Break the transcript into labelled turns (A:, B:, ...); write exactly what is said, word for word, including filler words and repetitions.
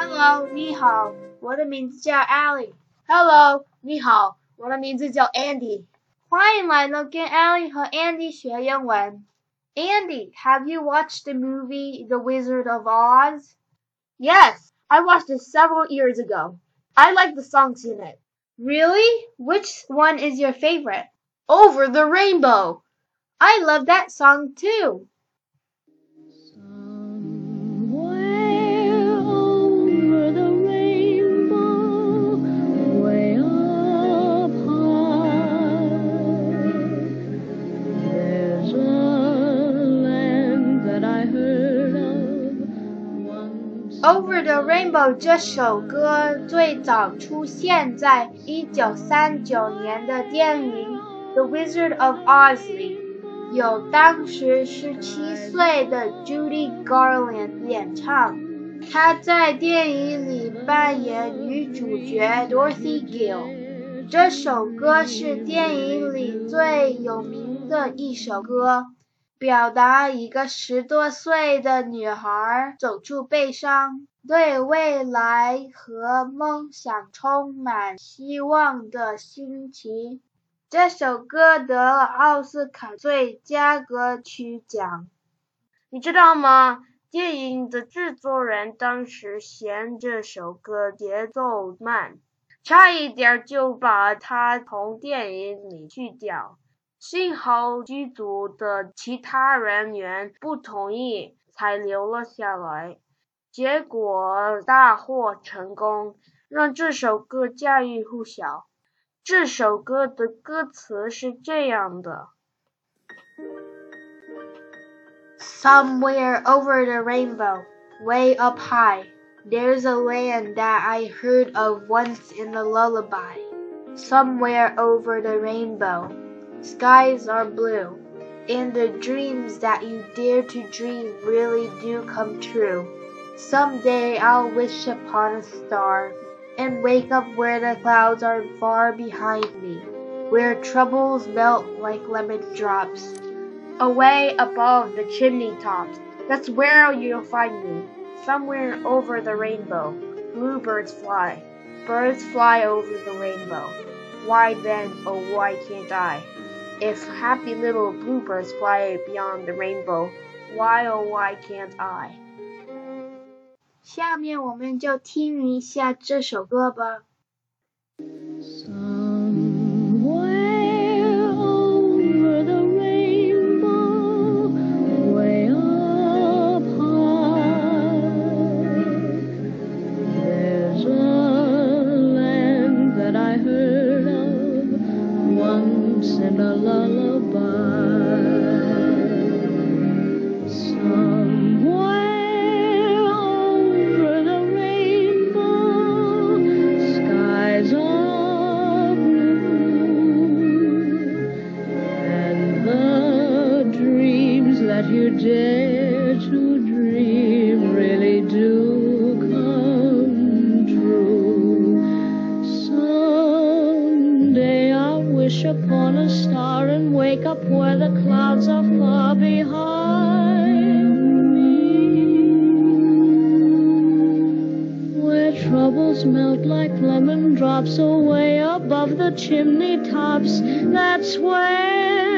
A: Hello， 你好，我的名字叫 Allie。Hello， 你好，我的名字叫 Andy。欢迎来到跟 Allie 和 Andy 学英文。Andy, have you watched the movie The Wizard of Oz? Yes, I watched it several years ago. I like the songs in it. Really? Which one is your favorite? Over the Rainbow. I love that song too. Over the Rainbow 这首歌最早出现在一九三九年的电影 The Wizard of Oz 里，由当时十七岁的 Judy Garland 演唱。她在电影里扮演女主角 Dorothy Gale。这首歌是电影里最有名的一首歌，表达一个十多岁的女孩走出悲伤，对未来和梦想充满希望的心情。这首歌得了奥斯卡最佳歌曲奖。你知道吗？电影的制作人当时嫌这首歌节奏慢，差一点就把它从电影里去掉。幸好剧组的其他人员不同意，才留了下来。结果大获成功，让这首歌家喻户晓。这首歌的歌词是这样的 Somewhere over the rainbow, way up high, there's a land that I heard of once in a lullaby. Somewhere over the rainbow,Skies are blue, and the dreams that you dare to dream really do come true. Someday I'll wish upon a star, and wake up where the clouds are far behind me, where troubles melt like lemon drops. Away above the chimney tops, that's where you'll find me, somewhere over the rainbow. Bluebirds fly, birds fly over the rainbow. Why then, oh why can't I?If happy little bluebirds fly beyond the rainbow, why oh why can't I? 下面我们就听一下这首歌吧。You dare to dream really do come true. Someday I'll wish upon a star and wake up where the clouds are far behind me, where troubles melt like lemon drops away above the chimney tops. That's where